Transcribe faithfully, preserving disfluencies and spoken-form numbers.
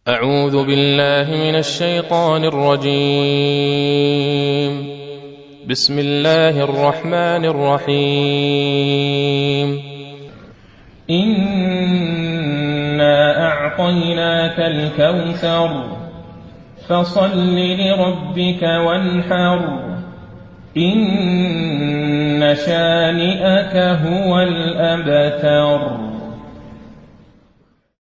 أعوذ بالله من الشيطان الرجيم. بسم الله الرحمن الرحيم. إنا أعطيناك الكوثر فصل لربك وانحر إن شانئك هو الأبتر.